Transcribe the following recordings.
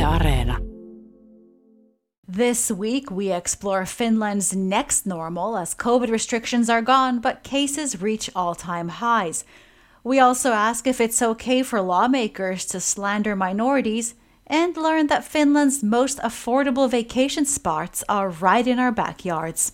Areena. This week, we explore Finland's next normal as COVID restrictions are gone, but cases reach all-time highs. We also ask if it's okay for lawmakers to slander minorities and learn that Finland's most affordable vacation spots are right in our backyards.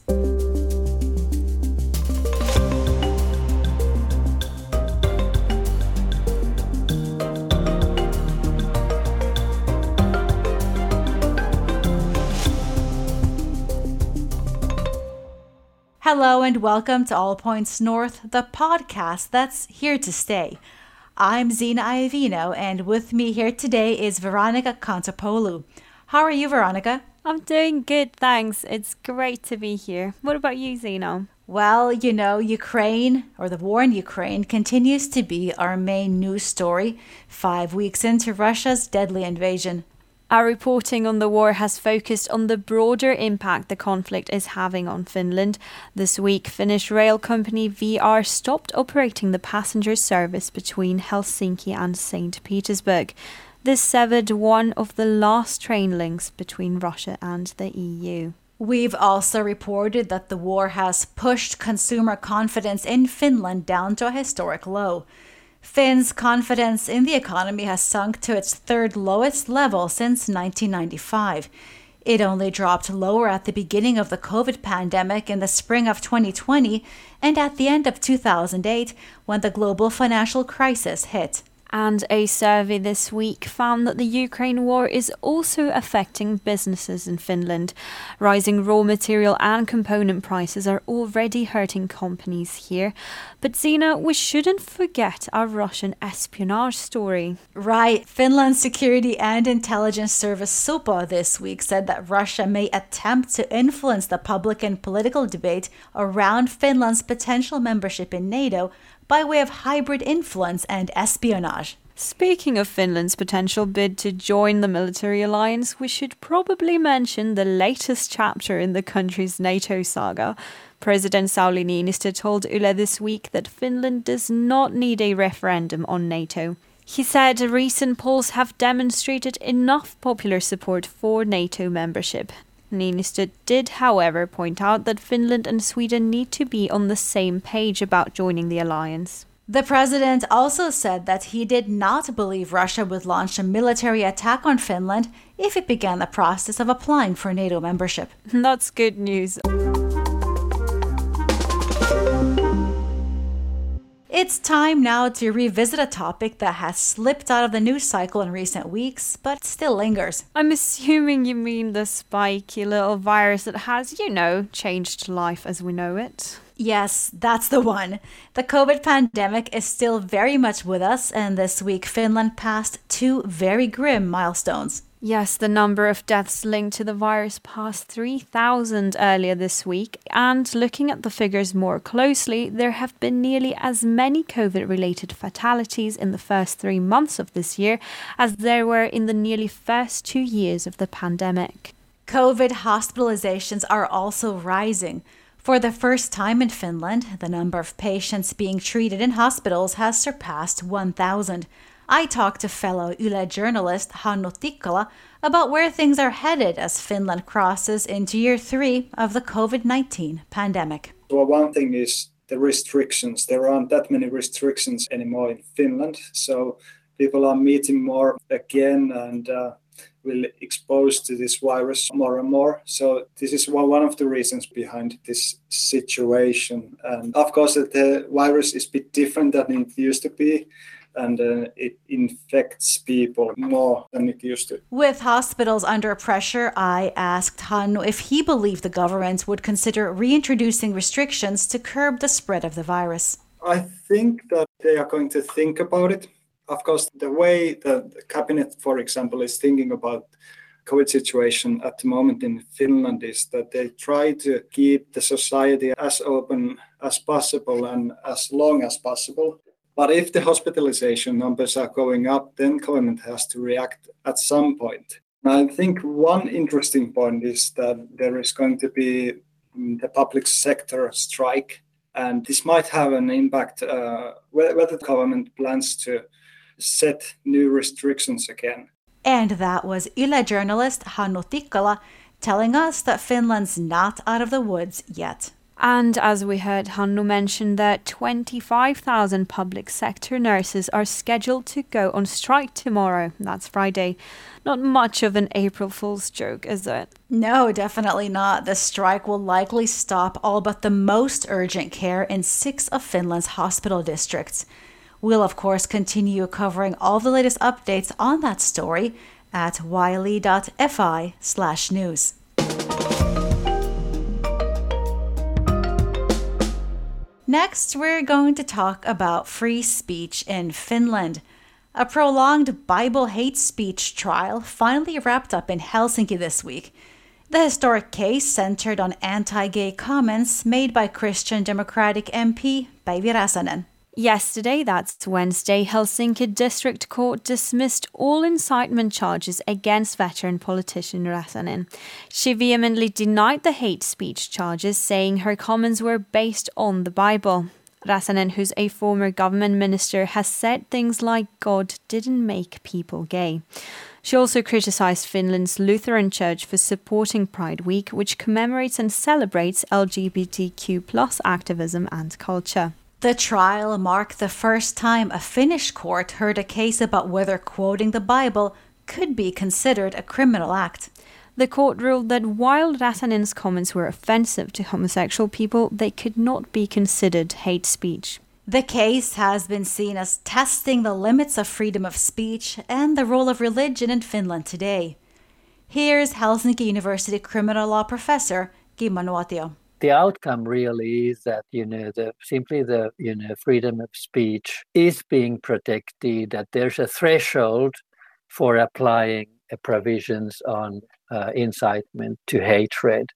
Hello and welcome to All Points North, the podcast that's here to stay. I'm Zina Iovino, and with me here today is Veronica Kontopoulou. How are you, Veronica? I'm doing good, thanks. It's great to be here. What about you, Zina? Well, Ukraine, or the war in Ukraine, continues to be our main news story 5 weeks into Russia's deadly invasion. Our reporting on the war has focused on the broader impact the conflict is having on Finland. This week, Finnish rail company VR stopped operating the passenger service between Helsinki and St. Petersburg. This severed one of the last train links between Russia and the EU. We've also reported that the war has pushed consumer confidence in Finland down to a historic low. Finns' confidence in the economy has sunk to its third lowest level since 1995. It only dropped lower at the beginning of the COVID pandemic in the spring of 2020 and at the end of 2008 when the global financial crisis hit. And a survey this week found that the Ukraine war is also affecting businesses in Finland. Rising raw material and component prices are already hurting companies here. But Zina, we shouldn't forget our Russian espionage story. Right. Finland's security and intelligence service SUPO this week said that Russia may attempt to influence the public and political debate around Finland's potential membership in NATO by way of hybrid influence and espionage. Speaking of Finland's potential bid to join the military alliance, we should probably mention the latest chapter in the country's NATO saga. President Sauli Niinistö told Yle this week that Finland does not need a referendum on NATO. He said recent polls have demonstrated enough popular support for NATO membership. Niinistö did, however, point out that Finland and Sweden need to be on the same page about joining the alliance. The president also said that he did not believe Russia would launch a military attack on Finland if it began the process of applying for NATO membership. That's good news. It's time now to revisit a topic that has slipped out of the news cycle in recent weeks, but still lingers. I'm assuming you mean the spiky little virus that has, changed life as we know it. Yes, that's the one. The COVID pandemic is still very much with us, and this week Finland passed two very grim milestones. Yes, the number of deaths linked to the virus passed 3,000 earlier this week, and looking at the figures more closely, there have been nearly as many COVID-related fatalities in the first 3 months of this year as there were in the nearly first 2 years of the pandemic. COVID hospitalizations are also rising. For the first time in Finland, the number of patients being treated in hospitals has surpassed 1,000. I talked to fellow Yle journalist Hannu Tikkola about where things are headed as Finland crosses into year 3 of the COVID-19 pandemic. Well, one thing is the restrictions. There aren't that many restrictions anymore in Finland, so people are meeting more again and will expose to this virus more and more. So this is one of the reasons behind this situation. And of course, the virus is a bit different than it used to be. And it infects people more than it used to. With hospitals under pressure, I asked Hannu if he believed the government would consider reintroducing restrictions to curb the spread of the virus. I think that they are going to think about it. Of course, the way the cabinet, for example, is thinking about COVID situation at the moment in Finland is that they try to keep the society as open as possible and as long as possible. But if the hospitalization numbers are going up, then government has to react at some point. I think one interesting point is that there is going to be the public sector strike, and this might have an impact whether the government plans to set new restrictions again. And that was Yle journalist Hannu Tikkola telling us that Finland's not out of the woods yet. And as we heard Hannu mention that 25,000 public sector nurses are scheduled to go on strike tomorrow. That's Friday. Not much of an April Fool's joke, is it? No, definitely not. The strike will likely stop all but the most urgent care in 6 of Finland's hospital districts. We'll, of course, continue covering all the latest updates on that story at yle.fi/news. Next, we're going to talk about free speech in Finland. A prolonged Bible hate speech trial finally wrapped up in Helsinki this week. The historic case centered on anti-gay comments made by Christian Democratic MP Päivi Räsänen. Yesterday, that's Wednesday, Helsinki District Court dismissed all incitement charges against veteran politician Räsänen. She vehemently denied the hate speech charges, saying her comments were based on the Bible. Räsänen, who's a former government minister, has said things like God didn't make people gay. She also criticized Finland's Lutheran Church for supporting Pride Week, which commemorates and celebrates LGBTQ+ activism and culture. The trial marked the first time a Finnish court heard a case about whether quoting the Bible could be considered a criminal act. The court ruled that while Räsänen's comments were offensive to homosexual people, they could not be considered hate speech. The case has been seen as testing the limits of freedom of speech and the role of religion in Finland today. Here's Helsinki University criminal law professor Kimmo Nuotio. The outcome really is that, the freedom of speech is being protected, that there's a threshold for applying provisions on incitement to hatred.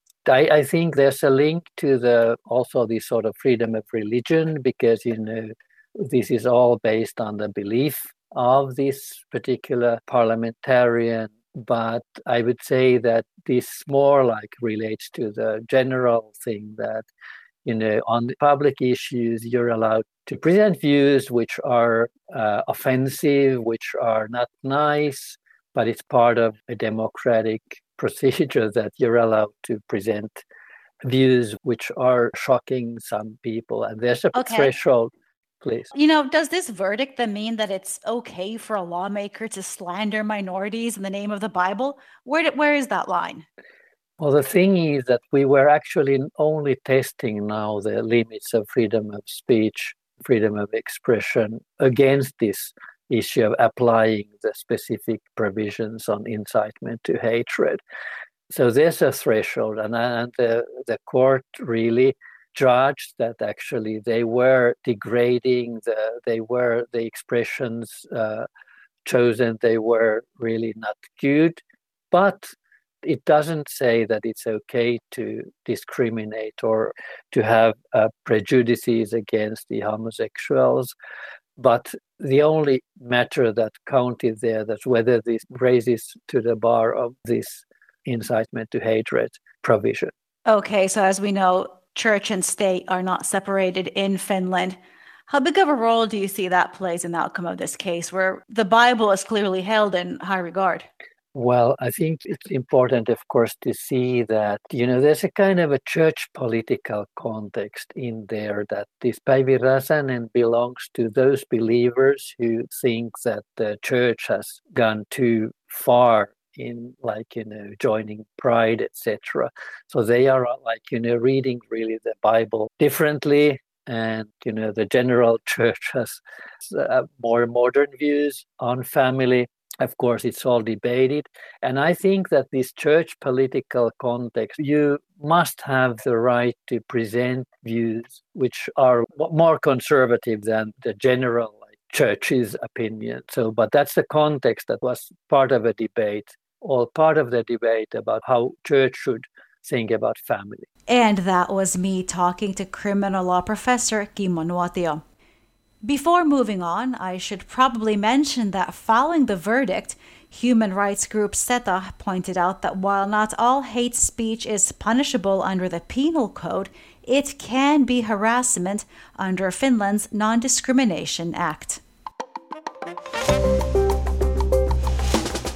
I think there's a link to also the sort of freedom of religion, because, this is all based on the belief of this particular parliamentarian. But I would say that this more relates to the general thing that, on the public issues, you're allowed to present views which are offensive, which are not nice, but it's part of a democratic procedure that you're allowed to present views which are shocking some people. And there's a threshold. Please. Does this verdict then mean that it's okay for a lawmaker to slander minorities in the name of the Bible? Where is that line? Well, the thing is that we were actually only testing now the limits of freedom of speech, freedom of expression against this issue of applying the specific provisions on incitement to hatred. So there's a threshold, and the court really judged that actually they were degrading the expressions chosen, they were really not good, but it doesn't say that it's okay to discriminate or to have prejudices against the homosexuals. But the only matter that counted there, that's whether this raises to the bar of this incitement to hatred provision. Okay, so as we know, church and state are not separated in Finland. How big of a role do you see that plays in the outcome of this case, where the Bible is clearly held in high regard? Well, I think it's important, of course, to see that, there's a kind of a church political context in there, that this Päivi Räsänen belongs to those believers who think that the church has gone too far in joining Pride, etc. So they are reading really the Bible differently, and the general church has more modern views on family. Of course, it's all debated, and I think that this church political context, you must have the right to present views which are more conservative than the general church's opinion. But that's the context that was part of a debate, all part of the debate about how church should think about family. And that was me talking to criminal law professor Kimmo Nuotio. Before moving on, I should probably mention that following the verdict, human rights group SETA pointed out that while not all hate speech is punishable under the penal code, it can be harassment under Finland's Non-Discrimination Act.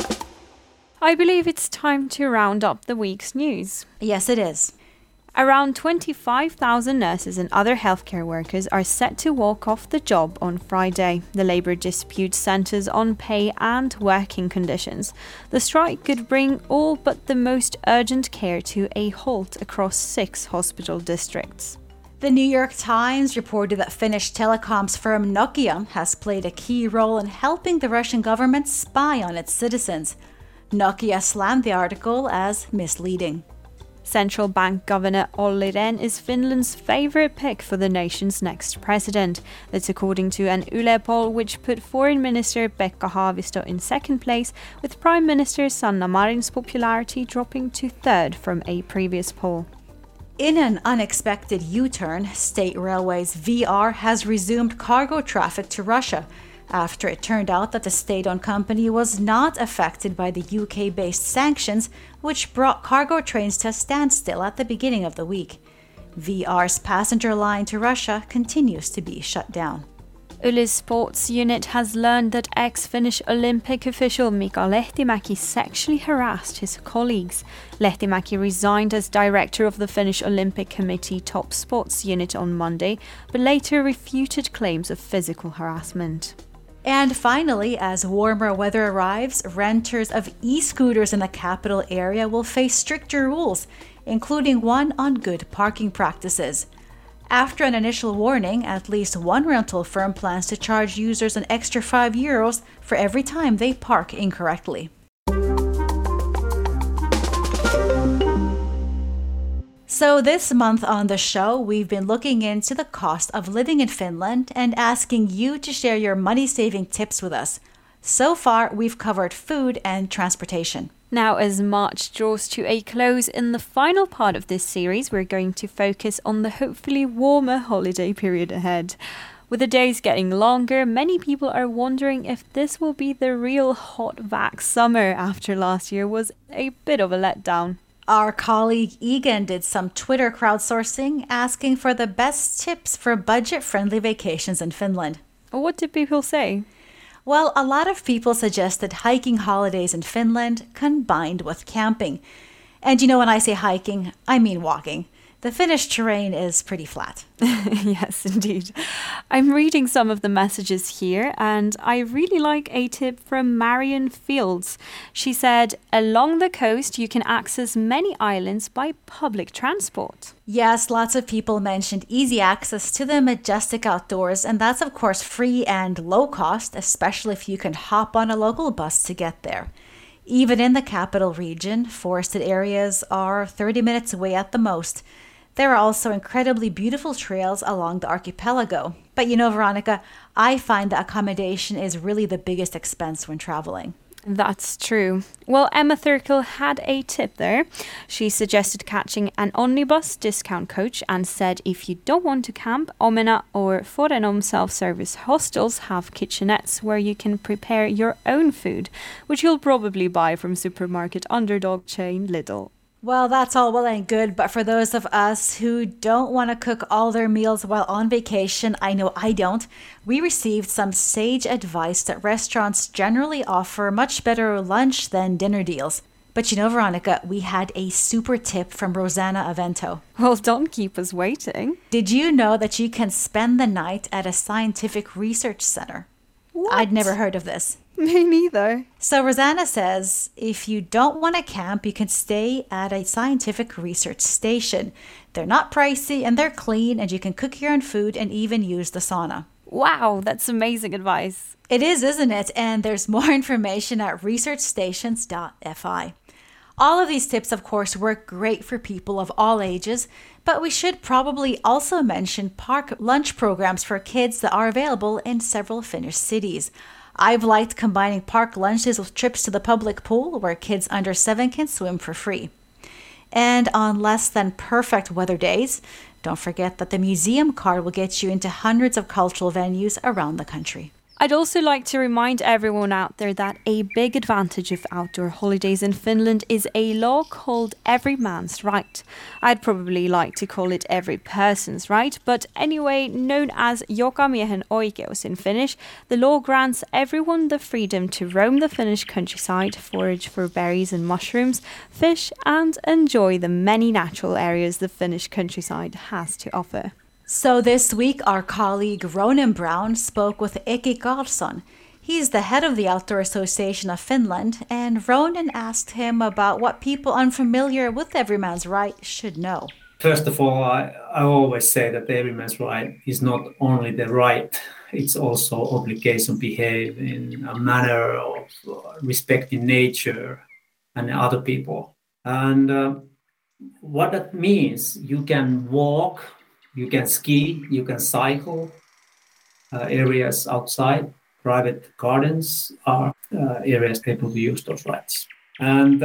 I believe it's time to round up the week's news. Yes, it is. Around 25,000 nurses and other healthcare workers are set to walk off the job on Friday. The labour dispute centres on pay and working conditions. The strike could bring all but the most urgent care to a halt across 6 hospital districts. The New York Times reported that Finnish telecoms firm Nokia has played a key role in helping the Russian government spy on its citizens. Nokia slammed the article as misleading. Central Bank Governor Olli Rehn is Finland's favourite pick for the nation's next president. That's according to an Yle poll which put Foreign Minister Pekka Haavisto in second place, with Prime Minister Sanna Marin's popularity dropping to third from a previous poll. In an unexpected U-turn, State Railways VR has resumed cargo traffic to Russia after it turned out that the state-owned company was not affected by the UK-based sanctions, which brought cargo trains to a standstill at the beginning of the week. VR's passenger line to Russia continues to be shut down. Yle's sports unit has learned that ex-Finnish Olympic official Mika Lehtimäki sexually harassed his colleagues. Lehtimäki resigned as director of the Finnish Olympic Committee top sports unit on Monday, but later refuted claims of physical harassment. And finally, as warmer weather arrives, renters of e-scooters in the capital area will face stricter rules, including one on good parking practices. After an initial warning, at least one rental firm plans to charge users an extra €5 for every time they park incorrectly. So this month on the show, we've been looking into the cost of living in Finland and asking you to share your money-saving tips with us. So far, we've covered food and transportation. Now, as March draws to a close, in the final part of this series, we're going to focus on the hopefully warmer holiday period ahead. With the days getting longer, many people are wondering if this will be the real hot vax summer after last year was a bit of a letdown. Our colleague Egan did some Twitter crowdsourcing asking for the best tips for budget-friendly vacations in Finland. What did people say? Well, a lot of people suggested hiking holidays in Finland combined with camping. And you know, when I say hiking, I mean walking. The Finnish terrain is pretty flat. Yes, indeed. I'm reading some of the messages here, and I really like a tip from Marion Fields. She said, along the coast, you can access many islands by public transport. Yes, lots of people mentioned easy access to the majestic outdoors, and that's of course free and low cost, especially if you can hop on a local bus to get there. Even in the capital region, forested areas are 30 minutes away at the most. There are also incredibly beautiful trails along the archipelago. But you know, Veronica, I find the accommodation is really the biggest expense when traveling. That's true. Well, Emma Thurkel had a tip there. She suggested catching an Onnibus discount coach and said if you don't want to camp, Omena or Forenom self-service hostels have kitchenettes where you can prepare your own food, which you'll probably buy from supermarket underdog chain Lidl. Well, that's all well and good, but for those of us who don't want to cook all their meals while on vacation, I know I don't, we received some sage advice that restaurants generally offer much better lunch than dinner deals. But you know, Veronica, we had a super tip from Rosanna Avento. Well, don't keep us waiting. Did you know that you can spend the night at a scientific research center? What? I'd never heard of this. Me neither. So Rosanna says, if you don't want to camp, you can stay at a scientific research station. They're not pricey and they're clean, and you can cook your own food and even use the sauna. Wow, that's amazing advice. It is, isn't it? And there's more information at researchstations.fi. All of these tips, of course, work great for people of all ages, but we should probably also mention park lunch programs for kids that are available in several Finnish cities. I've liked combining park lunches with trips to the public pool where kids under 7 can swim for free. And on less than perfect weather days, don't forget that the museum card will get you into hundreds of cultural venues around the country. I'd also like to remind everyone out there that a big advantage of outdoor holidays in Finland is a law called every man's right. I'd probably like to call it every person's right, but anyway, known as jokamiehen oikeus in Finnish, the law grants everyone the freedom to roam the Finnish countryside, forage for berries and mushrooms, fish, and enjoy the many natural areas the Finnish countryside has to offer. So this week, our colleague Ronan Brown spoke with Eki Karlsson. He's the head of the Outdoor Association of Finland, and Ronan asked him about what people unfamiliar with every man's right should know. First of all, I always say that every man's right is not only the right, it's also obligation to behave in a manner of respecting nature and other people. And what that means, you can walk, you can ski, you can cycle, areas outside, private gardens are areas able to use those rights. And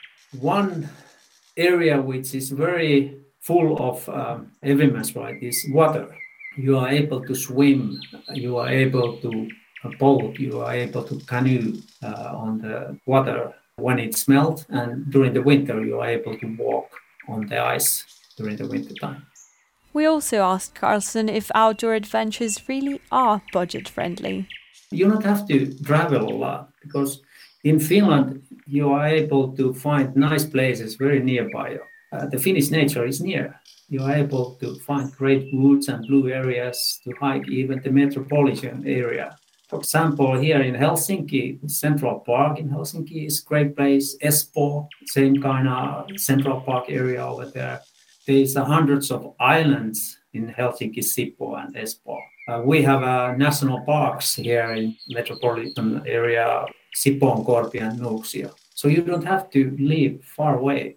one area which is very full of every man's right is water. You are able to swim, you are able to boat, you are able to canoe on the water when it's melt, and during the winter you are able to walk on the ice during the winter time. We also asked Karlsson if outdoor adventures really are budget-friendly. You don't have to travel a lot because in Finland you are able to find nice places very nearby. The Finnish nature is near. You are able to find great woods and blue areas to hike, even the metropolitan area. For example, here in Helsinki, Central Park in Helsinki is a great place. Espoo, same kind of Central Park area over there. There's hundreds of islands in Helsinki, Sipoo and Espoo. We have national parks here in metropolitan area, Sipoonkorpi and Nuuksio. So you don't have to live far away.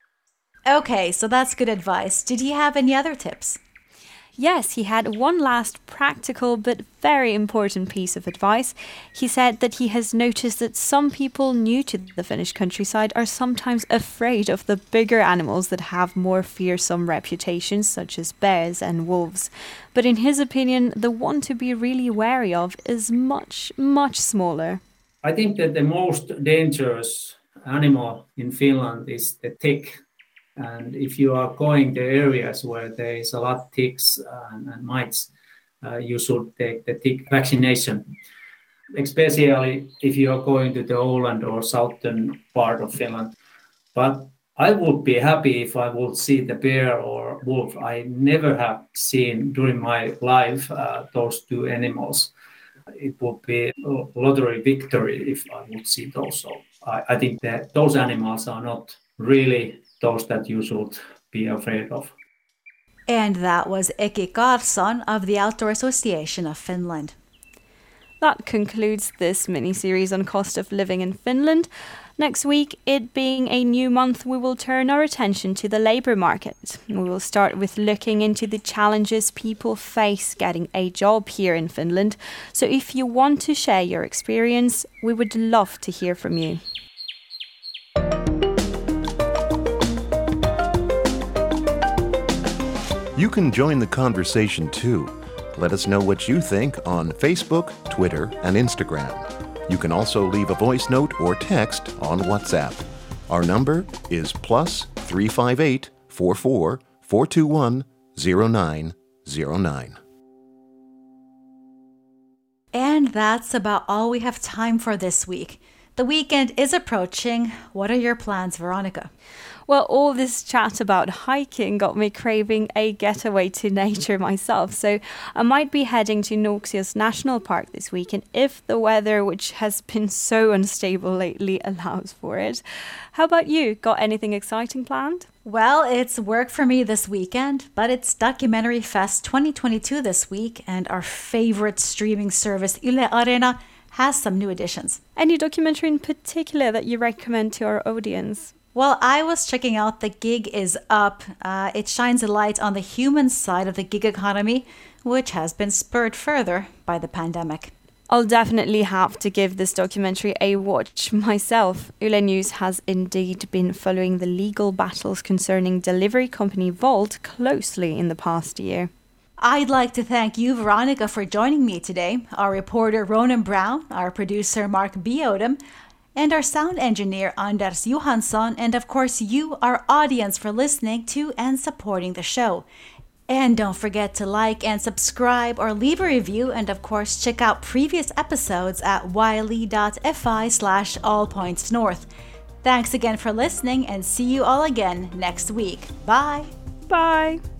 Okay, so that's good advice. Did he have any other tips? Yes, he had one last practical but very important piece of advice. He said that he has noticed that some people new to the Finnish countryside are sometimes afraid of the bigger animals that have more fearsome reputations, such as bears and wolves. But in his opinion, the one to be really wary of is much, much smaller. I think that the most dangerous animal in Finland is the tick. And if you are going to areas where there is a lot of ticks and mites, you should take the tick vaccination, especially if you are going to the Åland or southern part of Finland. But I would be happy if I would see the bear or wolf. I never have seen during my life those two animals. It would be a lottery victory if I would see those. So I think that those animals are not really those that you should be afraid of. And that was Eki Karlsson of the Outdoor Association of Finland. That concludes this mini-series on cost of living in Finland. Next week, it being a new month, we will turn our attention to the labour market. We will start with looking into the challenges people face getting a job here in Finland. So if you want to share your experience, we would love to hear from you. You can join the conversation too. Let us know what you think on Facebook, Twitter, and Instagram. You can also leave a voice note or text on WhatsApp. Our number is +358 44 421 0909. And that's about all we have time for this week. The weekend is approaching. What are your plans, Veronica? Well, all this chat about hiking got me craving a getaway to nature myself, so I might be heading to Nuuksio's National Park this weekend if the weather, which has been so unstable lately, allows for it. How about you? Got anything exciting planned? Well, it's work for me this weekend, but it's Documentary Fest 2022 this week, and our favorite streaming service, Yle Areena, has some new additions. Any documentary in particular that you recommend to our audience? Well, I was checking out The Gig is Up. It shines a light on the human side of the gig economy, which has been spurred further by the pandemic. I'll definitely have to give this documentary a watch myself. Yle News has indeed been following the legal battles concerning delivery company Wolt closely in the past year. I'd like to thank you, Veronica, for joining me today, our reporter Ronan Brown, our producer Mark B. Odom, and our sound engineer Anders Johansson, and of course you, our audience, for listening to and supporting the show. And don't forget to like and subscribe or leave a review, and of course check out previous episodes at wiley.fi/allpointsnorth. Thanks again for listening, and see you all again next week. Bye! Bye!